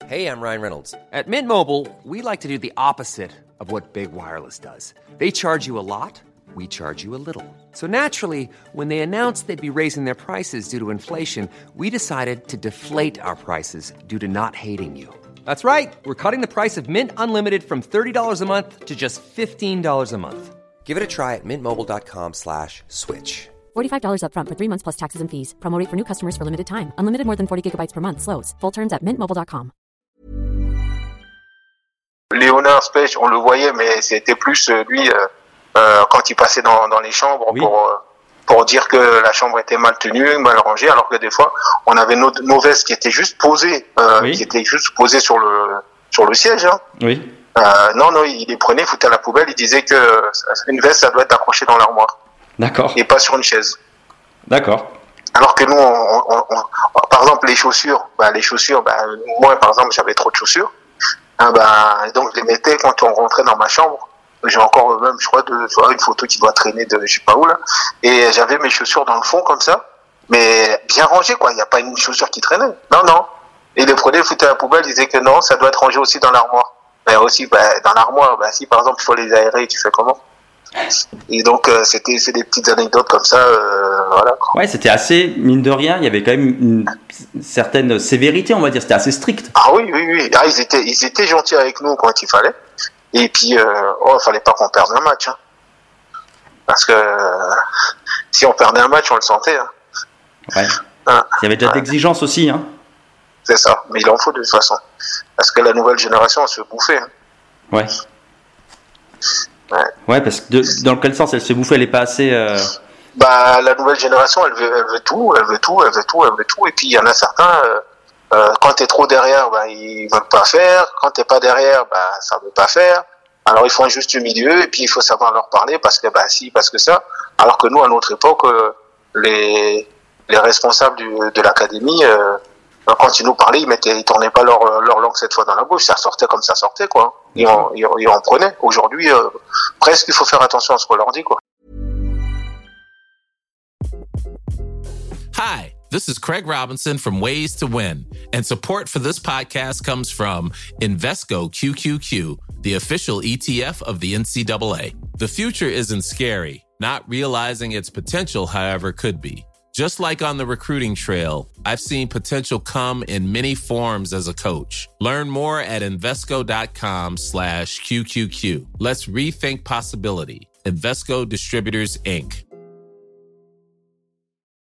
Hey, I'm Ryan Reynolds. At Mint Mobile, we like to do the opposite of what Big Wireless does. They charge you a lot, we charge you a little. So naturally, when they announced they'd be raising their prices due to inflation, we decided to deflate our prices due to not hating you. That's right. We're cutting the price of Mint Unlimited from $30 a month to just $15 a month. Give it a try at mintmobile.com/switch. $45 up front for 3 months plus taxes and fees. Promo rate for new customers for limited time. Unlimited more than 40 gigabytes per month. Slows full terms at mintmobile.com. Léonard Spech, on le voyait, mais c'était plus lui quand il passait dans les chambres pour dire que la chambre était mal tenue, mal rangée, alors que des fois on avait nos vestes qui étaient juste posées, sur le siège. Hein. Oui. Non, il les prenait, foutait à la poubelle. Il disait que une veste, ça doit être accroché dans l'armoire. D'accord. Et pas sur une chaise. D'accord. Alors que nous, par exemple, les chaussures, moi, par exemple, j'avais trop de chaussures. Donc je les mettais quand on rentrait dans ma chambre. J'ai encore même, je crois, une photo qui doit traîner de je sais pas où là. Et j'avais mes chaussures dans le fond comme ça, mais bien rangées quoi. Il n'y a pas une chaussure qui traînait. Non. Et il les prenait, foutait à la poubelle, il disait que non, ça doit être rangé aussi dans l'armoire. Mais aussi, dans l'armoire, si par exemple il faut les aérer, tu fais comment? Et donc c'est des petites anecdotes comme ça, voilà. Quoi. Ouais, c'était assez, mine de rien, il y avait quand même une certaine sévérité, on va dire, c'était assez strict. Ah oui. Ils étaient gentils avec nous quand il fallait. Et puis, il fallait pas qu'on perde un match, hein. Parce que si on perdait un match, on le sentait. Hein. Ouais. Il y avait déjà d'exigence aussi, hein. C'est ça, mais il en faut de toute façon. Parce que la nouvelle génération, elle se fait bouffer. Hein. Ouais. Ouais, parce que dans quel sens elle se fait bouffer, elle est pas assez. La nouvelle génération, elle veut tout. Et puis il y en a certains, quand t'es trop derrière, ils veulent pas faire. Quand t'es pas derrière, ça veut pas faire. Alors ils font un juste milieu et puis il faut savoir leur parler parce que parce que ça. Alors que nous, à notre époque, les responsables de l'académie, quand ils nous parlaient, ils tournaient pas leur langue cette fois dans la bouche. Ça sortait comme ça sortait, quoi. Ils en prenaient. Aujourd'hui, presque, il faut faire attention à ce qu'on leur dit, quoi. Hi, this is Craig Robinson from Ways to Win, and support for this podcast comes from Invesco QQQ, the official ETF of the NCAA. The future isn't scary. Not realizing its potential, however, could be. Just like on the recruiting trail, I've seen potential come in many forms as a coach. Learn more at Invesco.com/QQQ. Let's rethink possibility. Invesco Distributors, Inc.